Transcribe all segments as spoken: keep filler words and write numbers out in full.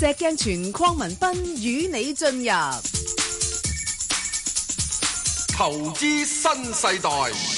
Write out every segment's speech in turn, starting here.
石鏡泉鄺民彬與你進入投資新世代。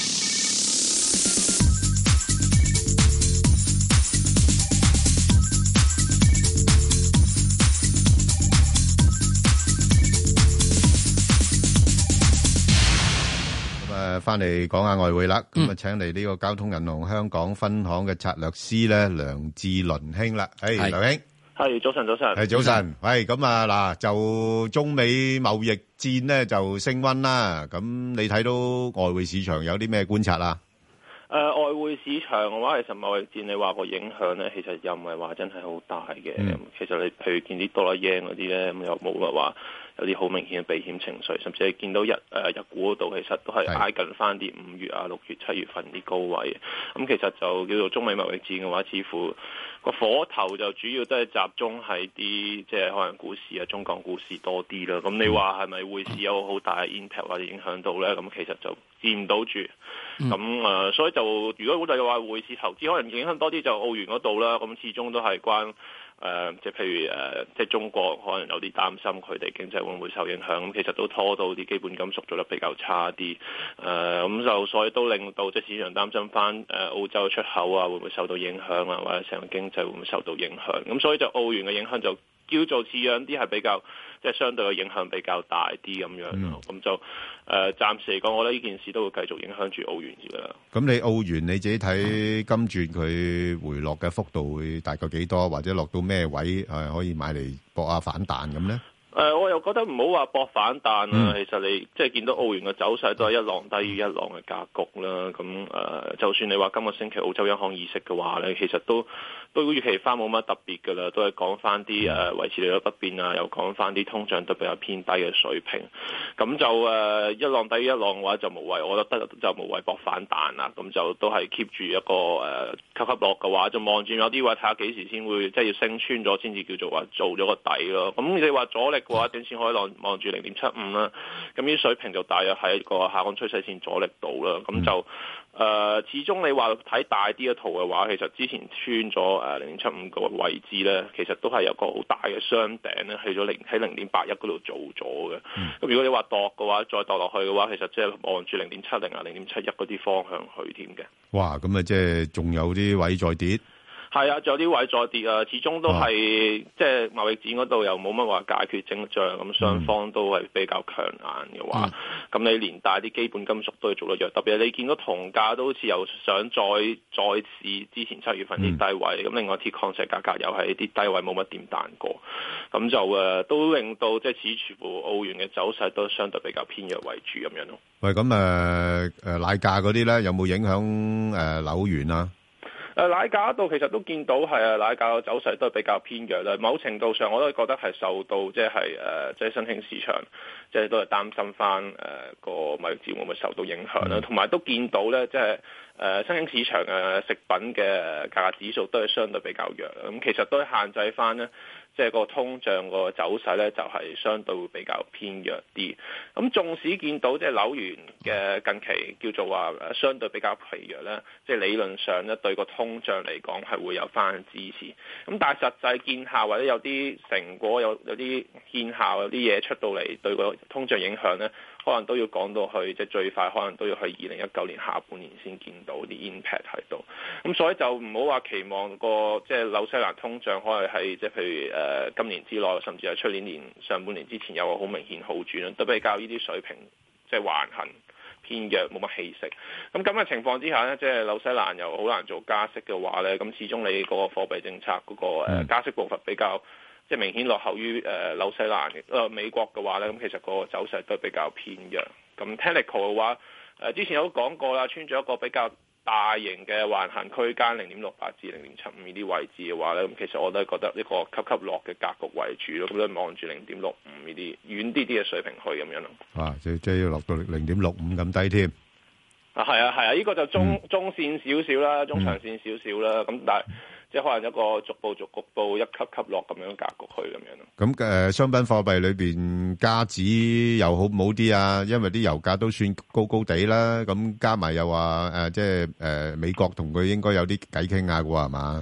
誒，翻嚟講下外匯啦，咁啊，請嚟呢個交通銀行香港分行嘅策略師咧，梁志倫兄啦，誒，梁兄， 係早晨，早晨， 係早晨，喂，咁啊嗱，就中美貿易戰咧就升溫啦，咁你睇到外匯市場有啲咩觀察啊？ 誒、呃、外匯市場嘅話，其實貿易戰你話個影響咧，其實又唔係話真係好大嘅。嗯、其實你譬如見啲多啦 yen 嗰啲咧，咁又冇乜話有啲好明顯嘅避險情緒，甚至係見到日誒、呃、日股嗰度，其實都係挨近翻啲五月啊、六月、七月份啲高位。咁其實就叫做中美貿易戰嘅話，似乎個火頭就主要都係集中喺啲即係可能股市啊、中港股市多啲啦。咁你話係咪匯市有好大嘅 impact 或者影響到咧？咁其實就見唔到住。咁誒、嗯呃，所以就如果我哋話匯市投資，可能影響多啲就澳元嗰度啦。咁始終都係關誒、呃，即係譬如誒、呃，即係中國可能有啲擔心佢哋經濟會唔會受影響。咁其實都拖到啲基本金屬做得比較差啲。誒、呃，咁就所以都令到即係市場擔心翻誒澳洲出口啊，會唔會受到影響啊，或者成個經濟會唔會受到影響？咁所以就澳元嘅影響就叫做似樣啲係比較。即係相對嘅影響比較大啲咁樣咯，咁、嗯、就誒、呃、暫時嚟講，我覺得呢件事都會繼續影響住澳元嘅啦。 咁你澳元你自己睇今轉佢回落嘅幅度會大概幾多，或者落到咩位誒可以買嚟搏下反彈咁咧？ 誒、呃，我又覺得唔好話搏反彈啊！ 嗯、 其實你即係見到澳元嘅走勢都係一浪低於一浪嘅格局啦。咁誒、呃，就算你話今個星期澳洲央行議息嘅話咧，其實都都預期翻冇乜特別㗎啦，都係講翻啲誒維持利率不變啊，又講翻啲通脹都比較偏低嘅水平。咁就誒、呃、一浪低於一浪嘅話就無謂，我覺得就無謂搏反彈啦。咁就都係 keep 住一個誒、呃、級級落嘅話，就望住有啲位睇下幾時先會即係要升穿咗先至叫做話做咗個底咯。咁你話阻力嘅話，短線可以望望住零點七五啦，咁呢啲水平就大約喺個下降趨勢線阻力度啦。咁就誒、呃，始終你話睇大啲嘅圖嘅話，其實之前穿咗誒零點七五個位置咧，其實都係有個好大嘅雙頂咧，去咗零喺零點八一嗰度做咗嘅。咁、嗯、如果你話度嘅話，再度落去嘅話，其實即係望住零點七零啊、零點七一嗰啲方向去添嘅。 哇！咁啊，即係仲有啲位再跌。 係啊，仲有啲位再跌啊，始終都係、哦、即係貿易戰嗰度又冇乜話解決徵象，咁雙方都係比較強硬嘅話，咁、嗯、你連帶啲基本金屬都係做得弱，特別係你見到銅價都好似又想再再試之前七月份啲低位，咁、嗯、另外鐵礦石價格又係啲低位冇乜點彈過，咁就誒都令到即係似乎澳元嘅走勢都相對比較偏弱為主咁樣咯。 喂，咁誒誒奶價嗰啲咧有冇影響誒紐元啊？ 誒奶價嗰度其實都見到係啊，奶價嘅走勢都係比較偏弱啦。某程度上我都覺得係受到即係誒即係新興市場，即係都係擔心翻誒個貿易戰會唔會受到影響啦。同埋都見到咧，即係誒新興市場嘅食品嘅價格指數都係相對比較弱。咁其實都係限制翻咧。即係個通脹個走勢咧，就係相對會比較偏弱啲。咁縱使見到即係紐元嘅近期叫做話相對比較疲弱咧，即係理論上咧對個通脹嚟講係會有翻支持。咁但係實際見效或者有啲成果有有啲見效有啲嘢出到嚟對個通脹影響咧，可能都要講到去即係最快可能都要去二零一九年下半年先見到啲 impact 喺度。咁所以就唔好話期望個即係紐西蘭通脹可能係即係譬如誒。誒今年之內，甚至係出年年上半年之前有個好明顯好轉啦，都比較呢啲水平即係橫行偏弱，冇乜氣息。咁咁嘅情況之下呢，即係紐西蘭又好難做加息嘅話呢，咁始終你嗰個貨幣政策嗰個誒加息步伐比較即係明顯落後於誒紐西蘭嘅誒美國嘅話呢，咁其實個走勢都比較偏弱。咁 technical 嘅話，誒之前有講過啦，穿咗一個比較大型嘅橫行區間零點六八至零點七五呢啲位置嘅話咧，咁其實我都係覺得呢個級級落嘅格局為主咯，咁都望住零點六五呢啲遠啲啲嘅水平去咁樣咯。 啊，即即要落到零點六五咁低添。 啊，係啊，係啊，呢、這個就中、嗯、中線少少啦，中長線少少啦，咁、嗯、但係。即係可能一個逐步逐步一級級落咁樣格局去咁樣咯。咁誒，商品貨幣裏邊加紙又好唔好啲啊？因為啲油價都算高高地啦。咁加埋又話誒，即係誒美國同佢應該有啲偈傾下嘅喎，係嘛？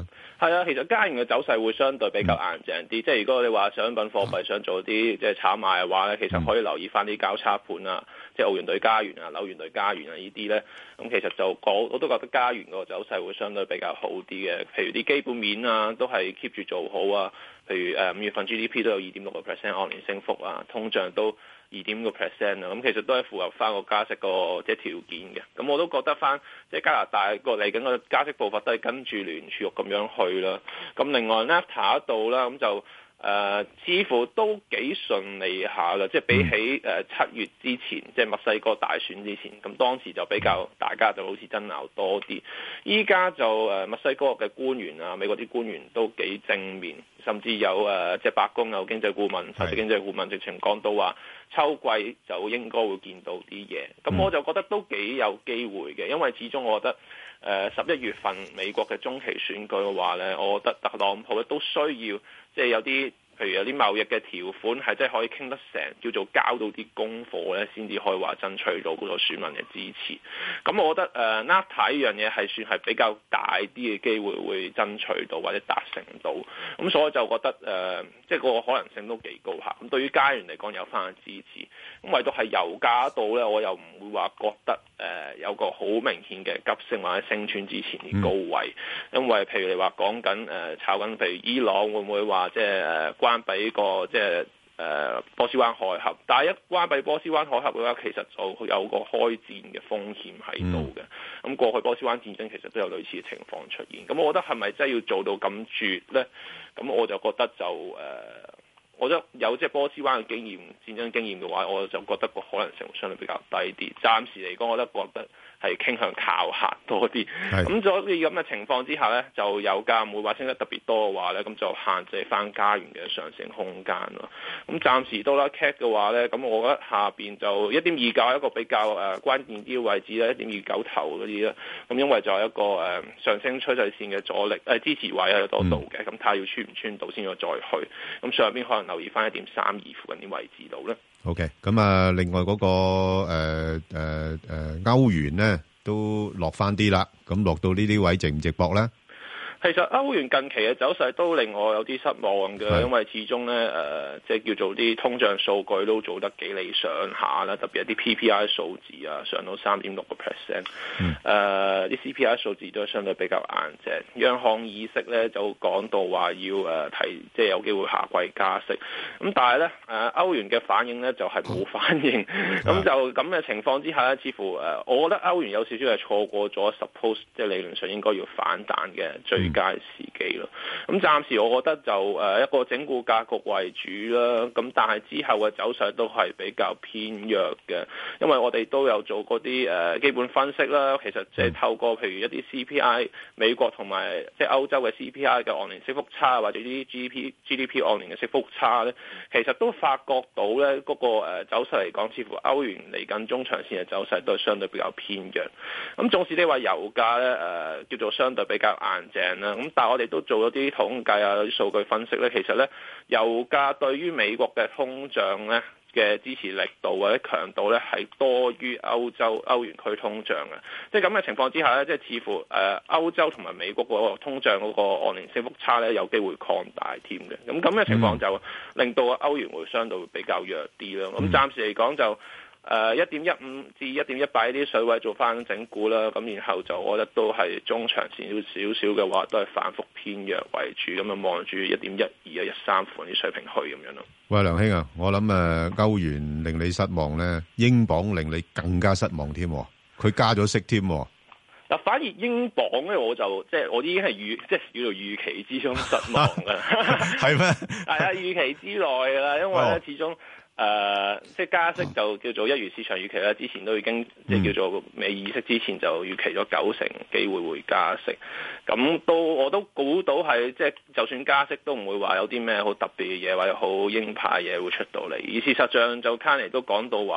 係啊，其實加元嘅走勢會相對比較硬淨啲，即係如果你話商品貨幣想做啲即係炒賣嘅話咧，其實可以留意翻啲交叉盤啊，即係澳元對加元啊、紐元對加元啊呢啲咧，咁其實就我我都覺得加元個走勢會相對比較好啲嘅，譬如啲基本面啊都係 keep 住做好啊，譬如誒五月份 G D P 都有二點六個 percent 按年升幅啊，通脹都二點五個 percent 啊，咁其實都係符合翻個加息個即係條件嘅。咁我都覺得翻即係加拿大個嚟緊個加息步伐都係跟住聯儲局咁樣去啦。咁另外 NAFTA 度啦，咁就誒、呃、似乎都幾順利下嘅，即係比起誒七、呃、月之前，即係墨西哥大選之前，咁當時就比較大家就好似爭拗多啲。依家就誒、呃、墨西哥嘅官員啊，美國啲官員都幾正面。甚至有誒、呃，即係白宮有經濟顧問，首席經濟顧問直情講到話，秋季就應該會見到啲嘢。咁我就覺得都幾有機會嘅，因為始終我覺得誒十一月份美國嘅中期選舉嘅話咧，我覺得特朗普咧都需要即係有啲。譬如有啲貿易嘅條款係真係可以傾得成，叫做交到啲功課咧，先至可以話爭取到嗰個選民嘅支持。咁我覺得誒 NAFTA 呢樣嘢係算係比較大啲嘅機會會爭取到或者達成到。咁所以就覺得誒、呃，即係個可能性都幾高下。咁對於加元嚟講有翻嘅支持。咁唯獨係油價度咧，我又唔會話覺得誒、呃、有個好明顯嘅急升或者升穿之前嘅高位。嗯、因為譬如你話講緊誒炒緊，譬如伊朗會唔會話即係誒關閉個即係誒波斯灣海峽，但係一關閉波斯灣海峽嘅話，其實就有個開戰嘅風險喺度嘅。咁、嗯、過去波斯灣戰爭其實都有類似嘅情況出現。咁我覺得係咪真係要做到咁絕咧？咁我就覺得就誒、呃，我覺得有即係波斯灣嘅經驗、戰爭經驗嘅話，我就覺得個可能性會相對比較低啲。暫時嚟講，我覺得覺得。係傾向靠客多啲，咁所以咁嘅情況之下呢，就油價唔會話升得特別多嘅話呢，咁就限制翻加元嘅上升空間咯。咁暫時都啦 cat 嘅話呢，咁我覺得下邊就一點二九係一個比較誒、呃、關鍵啲嘅位置咧，一點二九頭嗰啲啦。咁因為就係一個誒、呃、上升趨勢線嘅阻力誒、呃、支持位喺度度嘅，咁睇下要穿唔穿到先再再去。咁上邊可能留意翻一點三二附近啲位置度咧。 OK，咁啊，另外嗰、那個誒誒誒歐元咧都落翻啲啦，咁落到呢啲位值唔值博咧？ 其實歐元近期嘅走勢都令我有啲失望嘅，因為始終咧誒、呃，即係叫做啲通脹數據都做得幾理想下啦，特別係啲 P P I 數字啊，上到三點六個 percent， 誒啲 C P I 數字都相對比較硬淨。央行議息咧就講到話要誒、呃、提，即係有機會下季加息。咁但係咧誒歐元嘅反應咧就係、是、冇反應，咁就咁嘅情況之下咧，似乎誒、呃、我覺得歐元有少少係錯過咗 suppose 即係理論上應該要反彈嘅最佳時機咯，咁暫時我覺得就誒一個整固格局為主啦，咁但係之後嘅走勢都係比較偏弱嘅，因為我哋都有做嗰啲誒基本分析啦，其實即係透過譬如一啲 C P I 美國同埋即係歐洲嘅 C P I 嘅按年升幅差，或者啲 G D P G D P 按年嘅升幅差咧，其實都發覺到咧嗰個誒走勢嚟講，似乎歐元嚟緊中長線嘅走勢都係相對比較偏弱。咁縱使你話油價咧誒叫做相對比較硬淨。咁但係我哋都做咗啲統計啊，啲數據分析咧，其實咧油價對於美國嘅通脹咧嘅支持力度或者強度咧係多於歐洲歐元區通脹嘅，即係咁嘅情況之下咧，即係似乎誒、呃、歐洲同埋美國嗰個通脹嗰個按年升幅差咧有機會擴大添嘅，咁咁嘅情況就令到歐元會相對會比較弱啲咯。咁暫時嚟講就。誒一點一五至一點一八呢啲水位做翻整固啦，咁然後就我覺得都係中長線少少嘅話，都係反覆偏弱為主，咁啊望住一點一二啊一三款啲水平去咁樣咯。 喂，梁兄啊，我諗誒歐元令你失望咧，英鎊令你更加失望添，佢加咗息添。 嗱，反而英鎊咧，我就即係我已經係預即係叫做預期之中失望㗎啦。係咩？係啊，預期之內㗎啦，因為咧、哦、始終。誒、呃，即係加息就叫做一如市場預期啦。之前都已經即係叫做未議息之前就預期咗九成機會會加息。咁都我都估到係即係就算加息都唔會話有啲咩好特別嘅嘢或者好鷹派嘢會出到嚟。而事實上就卡尼都講到話，誒、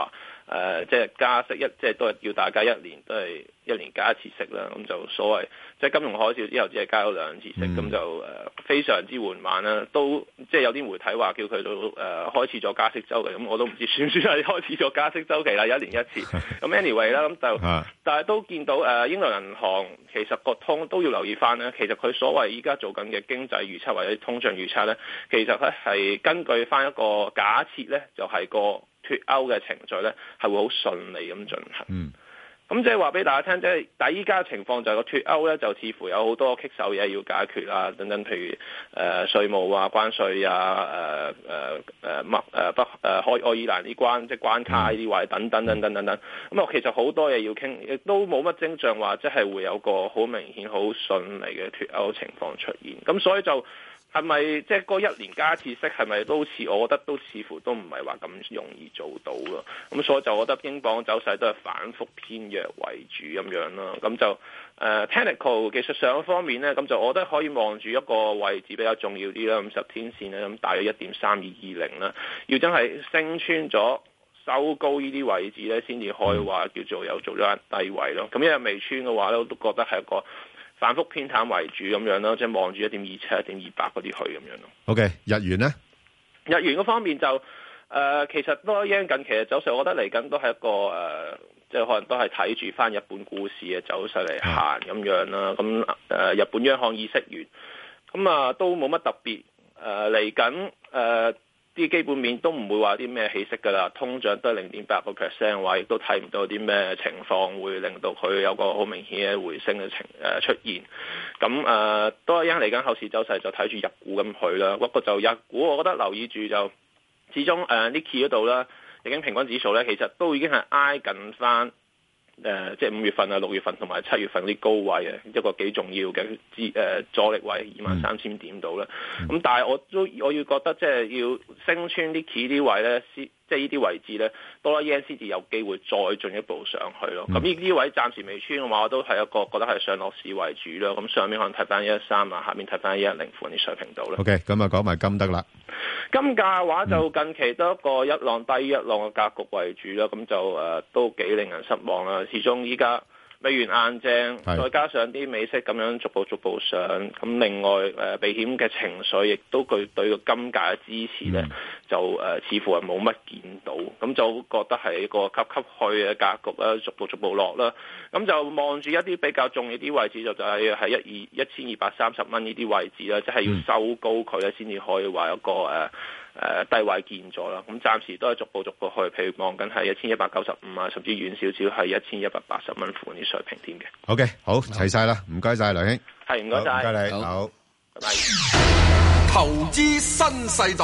誒即係加息一即係都係要大家一年都係一年加一次息啦。咁就所謂即係金融海嘯之後只係加咗兩次息，咁、嗯、就誒、呃、非常之緩慢啦。都即係有啲媒體話叫佢到誒、呃、開始咗加息週期，咁我都唔知算唔算係開始咗加息週期啦，一年一次。咁 anyway 啦，咁就但係都見到誒、呃、英倫銀行其實個通都要留意翻咧。其實佢所謂依家做緊嘅經濟預測或者通脹預測咧，其實咧係根據翻一個假設咧，就係、是、個脫歐嘅程序咧係會好順利咁進行。嗯。咁即係話俾大家聽，即係但係依家嘅情況就係個脫歐咧，就似乎有好多棘手嘢要解決啊，等等，譬如誒、呃、稅務啊、關稅啊、誒誒誒麥誒北誒愛愛爾蘭啲關即係關卡呢啲位等等等等等等。咁啊，其實好多嘢要傾，亦都冇乜徵象話即係會有個好明顯、好順利嘅脫歐情況出現。咁所以就。係咪即係嗰一年加一次息係咪都似？我覺得都似乎都唔係話咁容易做到咯。咁所以就我覺得英鎊走勢都係反覆偏弱為主咁樣咯。咁就誒、呃、technical 技術上方面咧，咁就我覺得可以望住一個位置比較重要啲啦。五十天線咧，咁大約一點三二二零啦。要真係升穿咗收高呢啲位置咧，先至可以話叫做有做咗一低位咯。咁因為未穿嘅話咧，我都覺得係一個反覆偏淡為主咁樣咯，即係望住一點二七、一點二八嗰啲去咁樣咯。 OK， 日元咧， 日元嗰方面就誒、呃，其實都一樣近期嘅走勢，我覺得嚟緊都係一個誒、呃，即係可能都係睇住翻日本股市嘅走勢嚟行咁樣啦。咁誒、呃，日本央行議息完，咁啊都冇乜特別誒嚟緊誒。呃啲基本面都唔會話啲咩起色㗎啦，通脹都係零點八個 percent 嘅話，亦都睇唔到啲咩情況會令到佢有個好明顯嘅回升嘅情誒出現。咁誒、呃、都係因嚟緊後市走勢就睇住日股咁去啦。不過就日股，我覺得留意住就始終誒 Nikkei 嗰度啦，日經平均指數咧，其實都已經係挨近翻。誒、呃，即係五月份啊、六月份同埋七月份啲高位啊，一個幾重要嘅支誒阻力位二萬三千點度啦。咁、嗯、但係我都我要覺得即係要升穿啲 key 啲位咧，即係呢啲位置咧，多啦 yen 先至有機會再進一步上去咯。咁呢啲位暫時未穿嘅話，我都係一個覺得係上落市為主咯。咁上面可能睇翻一一三啊，下面睇翻一一零附近啲水平度啦。 OK，咁啊講埋金得啦。 金價嘅話就近期都一個一浪低一浪嘅格局為主啦，咁就誒、呃、都幾令人失望啦。始終依家美元硬淨，再加上啲美息咁樣逐步逐步上，咁另外誒、呃、避險嘅情緒亦都具對個金價嘅支持咧、嗯，就誒、呃、似乎係冇乜見到，咁就覺得係一個級級去嘅格局啦，逐步逐步落啦。咁就望住一啲比較重要啲位置，就就係喺一二一千二百三十蚊呢啲位置啦，即、就、係、是、要收高佢咧，先至可以話一個誒。呃誒、呃、低位見咗啦，咁暫時都係逐步逐步去，譬如望緊係一千一百九十五啊，甚至遠少少係一千一百八十蚊附近啲水平添嘅。 OK， 好齊晒啦，唔該晒梁兄， 係唔該晒， 唔該你，好， 拜拜。投資新世代。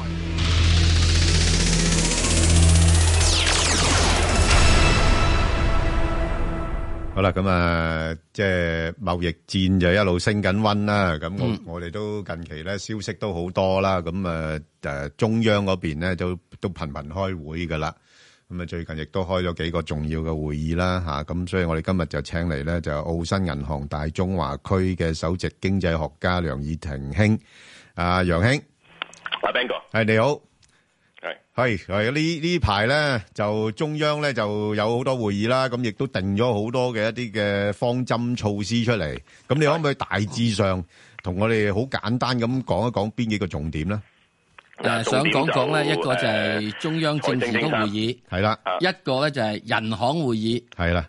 好啦，咁啊，即係貿易戰就一路升緊溫啦。咁我、嗯、我哋都近期咧消息都好多啦。咁啊誒，中央嗰邊咧都都頻頻開會噶啦。咁啊最近亦都開咗幾個重要嘅會議啦吓。咁所以我哋今日就請嚟咧就澳新銀行大中華區嘅首席經濟學家梁以庭兄。啊，楊兄， 阿 Ben 哥， 係你好。 係係係呢呢排咧就中央咧就有好多會議啦，咁亦都定咗好多嘅一啲嘅方針措施出嚟。咁你可唔可以大致上同我哋好簡單咁講一講邊幾個重點咧？ 誒，想講講咧，一個就係中央政治局會議，係啦；一個咧就係人行會議，係啦。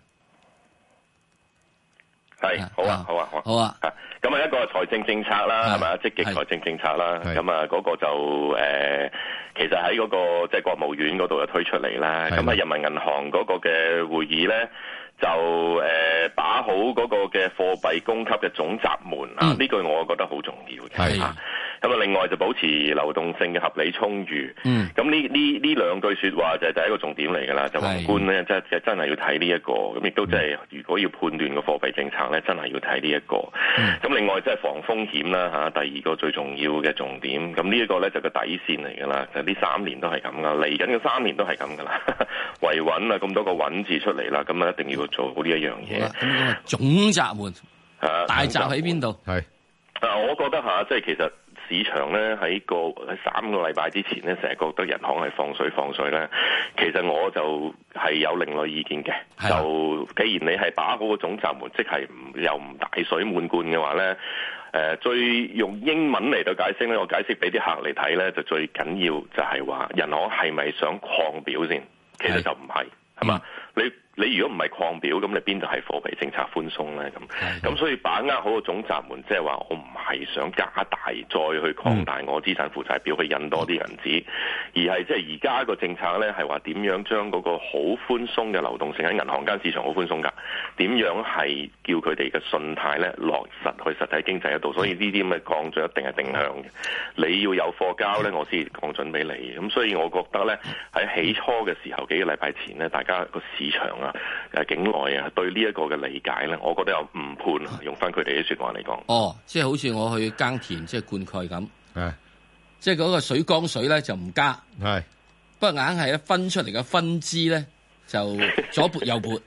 係好啊，好啊，好啊。好啊咁啊，一個財政政策啦，係咪啊？積極財政政策啦，咁啊，嗰個就誒、呃，其實喺嗰、那個即係、就是、國務院嗰度就推出嚟啦。咁啊，人民銀行嗰個嘅會議咧，就誒、呃、把好嗰個嘅貨幣供給嘅總閘門、嗯、啊，呢句我覺得好重要嘅。係咁啊，另外就保持流動性嘅合理充裕。嗯。咁呢呢呢兩句説話就係第一個重點嚟㗎啦。就宏觀咧，即係真係要睇呢一個。咁亦都即係如果要判斷個貨幣政策咧，真係要睇呢一個。咁、嗯、另外即係防風險啦嚇，第二個最重要嘅重點。咁呢一個咧就個底線嚟㗎啦。就呢三年都係咁㗎，嚟緊嘅三年都係咁㗎啦。維穩啊，咁多個穩字出嚟啦，咁啊一定要做好呢一樣嘢。 咁總閘門，大閘喺邊度？係。 啊，我覺得嚇，即係其實市場咧喺個喺三個禮拜之前咧，成日覺得人行係放水放水咧，其實我就係有另類意見嘅。就既然你係把好個總閘門，即係唔又唔大水漫灌嘅話咧，誒最用英文嚟到解釋咧，我解釋俾啲客嚟睇咧，就最緊要就係話人行係咪想擴表先？其實就唔係，係嘛？你你如果唔係擴表，咁你邊度係貨幣政策寬鬆咧？咁咁所以把握好個總閘門，即係話我唔係想加大再去擴大我資產負債表去印多啲銀紙，而係即係而家個政策咧係話點樣將嗰個好寬鬆嘅流動性喺銀行間市場好寬鬆㗎，點樣係叫佢哋嘅信貸咧落實去實體經濟嗰度，所以呢啲咁嘅降準一定係定向嘅。你要有貨交咧，我先降準俾你。咁所以我覺得咧喺起初嘅時候幾個禮拜前咧，大家個市場啊誒境內啊對呢一個嘅理解咧，我覺得有誤判啊。用翻佢哋啲説話嚟講， 哦，即係好似我去耕田即係灌溉咁，係即係嗰個水缸水咧就唔加，係不過硬係咧分出嚟嘅分支咧就左撥右撥。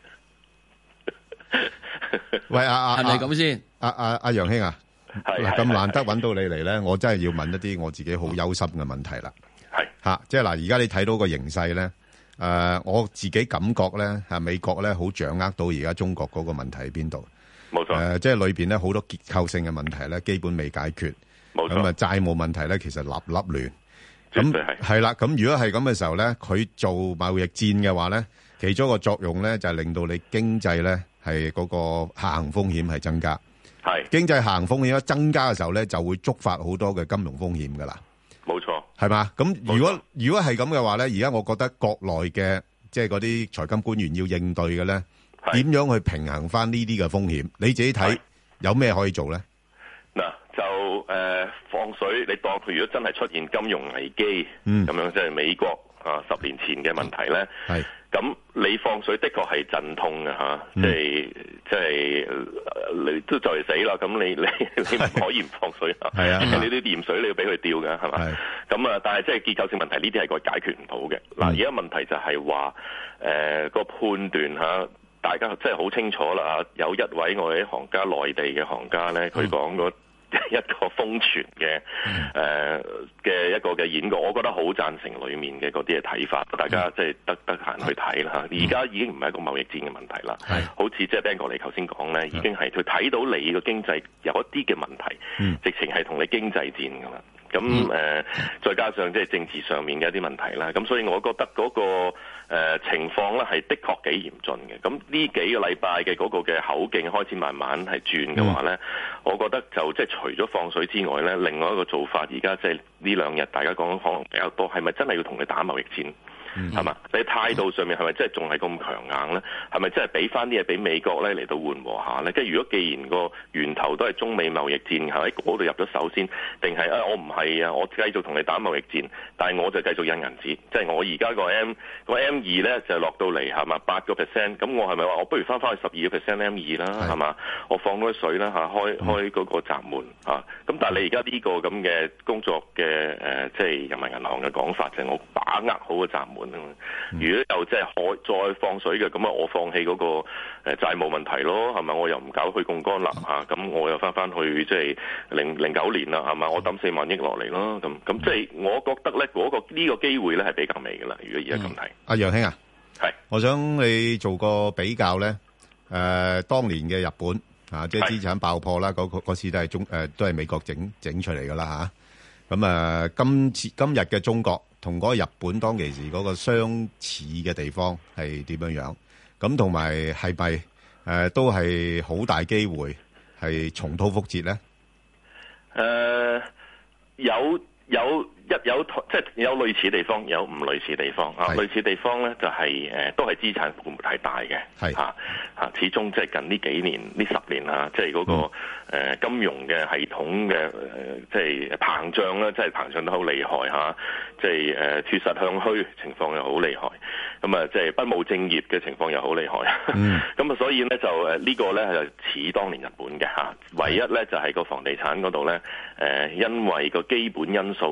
喂，阿阿係咪咁先？ 阿阿阿楊兄啊，嗱咁難得揾到你嚟咧，我真係要問一啲我自己好憂心嘅問題啦。係嚇，即係嗱，而家你睇到個形勢咧。誒、呃，我自己感覺咧，係美國咧好掌握到而家中國嗰個問題喺邊度。 冇錯。誒、 呃，即係裏邊咧好多結構性嘅問題咧，基本未解決。冇錯。咁啊，債務問題咧，其實粒粒亂。絕對係。係啦，咁如果係咁嘅時候咧，佢做貿易戰嘅話咧，其中一個作用咧就係、是、令到你經濟咧係嗰個下行風險係增加。係。經濟下行風險一增加嘅時候咧，就會觸發好多嘅金融風險㗎啦。冇錯，係嘛？咁如果如果係咁嘅話咧，而家我覺得國內嘅即係嗰啲財金官員要應對嘅咧，點樣去平衡翻呢啲嘅風險？你自己睇有咩可以做咧？ 嗱，就誒、呃、放水，你當佢如果真係出現金融危機，咁、嗯、樣即係美國啊十年前嘅問題咧，係咁你放水的確係陣痛嘅嚇，即係即係你都就嚟死啦，咁你你你唔可以唔放水啊？係啊，你啲鹽水你要俾佢吊嘅係嘛？咁啊，但係即係結構性問題呢啲係個解決唔到嘅。嗱，而家問題就係話誒個判斷嚇，大家真係好清楚啦。有一位我哋啲行家，內地嘅行家咧，佢講過一個瘋傳嘅誒嘅一個嘅演講，我覺得好贊成裡面嘅嗰啲嘅睇法，大家即係得得閒去睇啦。而家已經唔係一個貿易戰嘅問題啦，好似即係 Ben 哥你頭先講咧，已經係佢睇到你個經濟有一啲嘅問題，直情係同你經濟戰㗎啦。咁誒、呃，再加上即係政治上面嘅一啲問題啦，咁所以我覺得嗰、那個、呃、情況咧係的確幾嚴峻嘅。咁呢幾個禮拜嘅嗰個嘅口徑開始慢慢係轉嘅話咧、嗯，我覺得就即係除咗放水之外咧，另外一個做法而家即係呢兩日大家講可能比較多，係咪真係要同你打貿易戰？係嘛？你態度上面係咪真係仲係咁強硬咧？係咪真係俾翻啲嘢俾美國咧嚟到緩和下咧？跟住如果既然個源頭都係中美貿易戰，喺嗰度入咗手先，定係啊我唔係啊，我繼續同你打貿易戰，但係我就繼續印銀紙，即係我而家個 M 個 M 二咧就落到嚟係嘛八個 percent， 咁我係咪話我不如翻翻去十二個 percent M 二啦係嘛？我放多啲水啦嚇，開開嗰個閘門嚇。咁但係你而家呢個咁嘅工作嘅誒，即係人民銀行嘅講法就係我把握好個閘門。如果又即係可再放水嘅，咁啊我放棄嗰個誒債務問題咯，係咪？我又唔搞去槓桿啦嚇，咁我又翻翻去即係零零九年啦，係咪？我抌四萬億落嚟咯，咁咁即係我覺得咧嗰個呢個機會咧係比較微嘅啦。如果而家咁睇， 阿楊兄啊，係，我想你做個比較咧，誒當年嘅日本啊，即係資產爆破啦，嗰個嗰次都係中誒都係美國整整出嚟噶啦嚇，咁啊今次今日嘅中國。同嗰個日本當其時嗰個相似嘅地方係點樣樣？咁同埋係咪誒都係好大機會係重蹈覆轍咧？ 誒、呃、有有一有即係有類似地方，有唔類似地方啊！類似地方咧就係、是、誒、呃、都係資產負債大嘅，係嚇嚇，始終即係近呢幾年呢十年啊，即係嗰個、嗯呃、金融嘅系統嘅即係膨脹啦，即係膨脹得好厲害嚇，即係誒脫實向虛情況又好厲害，咁啊即係不務正業嘅情況又好厲害，咁、嗯、啊所以咧就誒、這個、呢個咧就似當年日本嘅嚇，唯一咧就係、是、個房地產嗰度咧誒，因為個基本因素咧，日本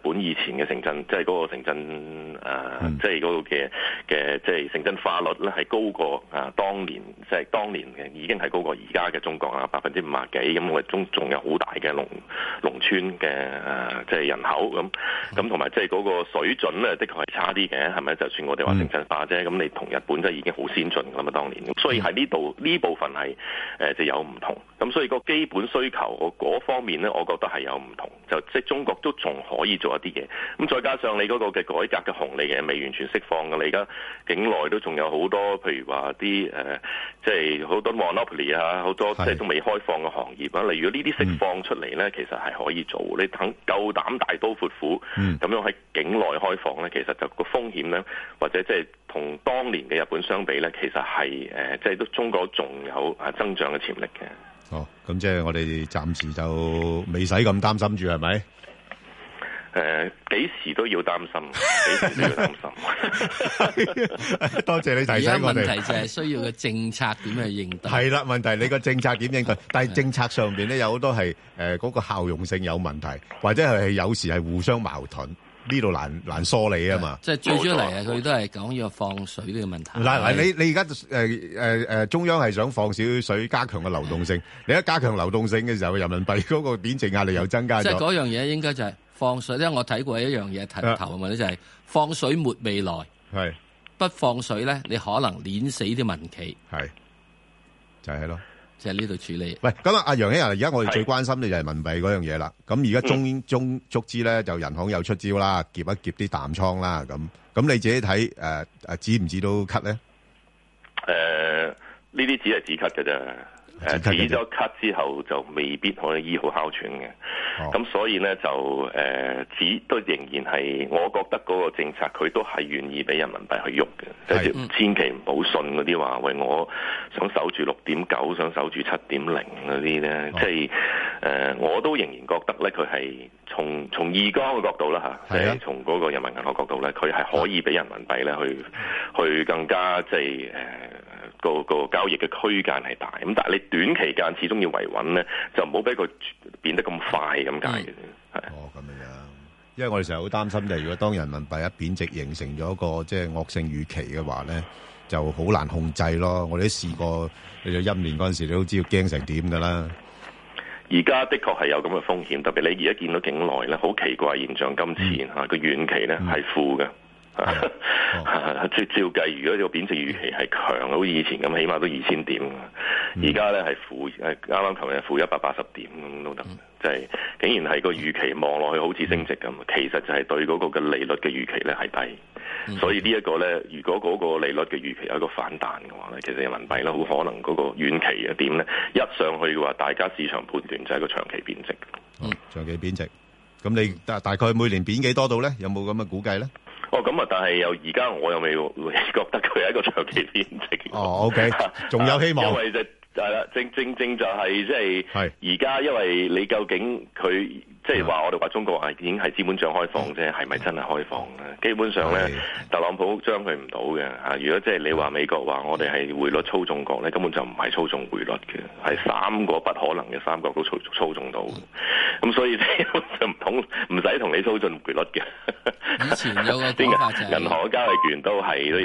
本以前嘅城鎮，即係嗰個城鎮誒，即係嗰個嘅嘅即係城鎮化率咧係高過啊當年，即係當年嘅已經係高過而家嘅中國啊，百分之五十幾，咁我哋中仲有好大嘅農農村嘅誒即係人口咁，咁同埋即係嗰個水準咧，的確係差啲嘅，係咪？就算我哋話城鎮化啫，咁你同日本真係已經好先進㗎嘛，當年，咁所以喺呢度呢部分係誒就有唔同，咁所以個基本需求嗰方面咧，我覺得係有唔同，就即係中國都仲可以做一啲嘢，咁再加上你嗰個嘅改革嘅紅利嘅未完全釋放嘅，你而家境內都仲有好多，譬如話啲誒，即係好多 monopoly 啊，好多即係都未開放嘅行業啊，例如呢啲釋放出嚟咧，嗯、其實係可以做，你等夠膽大刀闊斧咁、嗯、樣喺境內開放咧，其實就個風險咧，或者即係同當年嘅日本相比咧，其實係誒，即係都中國仲有啊增長嘅潛力嘅。 哦，咁即係我哋暫時就未使咁擔心住，係咪？ 誒，幾時都要擔心，幾時都要擔心。多謝你提醒我哋。而家問題就係需要嘅政策點去應對。係啦，問題你個政策點應對？但係政策上邊咧有好多係誒嗰個效用性有問題，或者係有時係互相矛盾。呢度難難梳理啊嘛，即係最主要嚟啊！佢都係講呢個放水呢個問題。嗱嗱，你你而家誒誒誒中央係想放少水，加強個流動性。你一加強流動性嘅時候，人民幣嗰個貶值壓力又增加咗。即係嗰樣嘢應該就係放水咧。我睇過一樣嘢頭頭嘅問題就係放水沒未來，係不放水咧，你可能碾死啲民企。係就係咯。即係呢度處理。喂，咁啊，阿楊兄啊，而家我哋最關心嘅就係人民幣嗰樣嘢啦。咁而家中中足之咧，就人行有出招啦，夾一夾啲淡倉啦。咁咁你自己睇誒誒止唔止到咳咧？誒，呢啲只係止咳嘅啫。誒止咗咳之後就未必可以醫好哮喘嘅。咁、哦、所以咧就誒止、呃、都仍然係，我覺得嗰個政策佢都係願意俾人民幣去喐嘅，即係千祈唔好信嗰啲話，喂，我想守住六點九，想守住七點零嗰啲咧，即係誒我都仍然覺得咧，佢係從從二江嘅角度啦嚇，即係從嗰個人民銀行角度咧，佢係可以俾人民幣咧去去更加即係誒。呃個個交易嘅區間係大，咁但係你短期間始終要維穩咧，就唔好俾佢變得咁快咁解嘅。係哦，咁樣，因為我哋成日好擔心就係如果當人民幣一貶值，形成咗一個即係惡性預期嘅話咧，就好難控制咯。我哋都試過，你就一五年嗰陣時，你都知道驚成點㗎啦。而家的確係有咁嘅風險，特別你而家見到境內咧，好奇怪現象，今次嚇個遠期咧係負嘅。照、哦、照計，如果個貶值預期係強，好似以前咁，起碼都二千點。而家咧係負，誒啱啱琴日負一百八十點咁都得，就係、是、竟然係個預期望落去好似升值咁，其實就係對嗰個嘅利率嘅預期咧係低。嗯、所以呢一個咧，如果嗰個利率嘅預期有一個反彈嘅話咧，其實人民幣咧好可能嗰個遠期嘅點咧一上去嘅話，大家市場判斷就係一個長期貶值。嗯，長期貶值。咁你大大概每年貶幾多度咧？有冇咁嘅估計咧？哦，咁啊，但係又而家我又未覺得佢係一個長期貶值。哦，OK，仲有希望。因為就係啦，正正正就係即係而家，因為你究竟佢即係話我哋話中國係已經係資本帳開放啫，係咪真係開放咧？基本上咧，特朗普將佢唔到嘅嚇。如果即係你話美國話我哋係匯率操縱國咧，根本就唔係操縱匯率嘅，係三個不可能嘅三角都操操縱到。咁所以就唔同唔使同你操縱匯率嘅。以前有個講法就係銀行嘅交易員都係都要。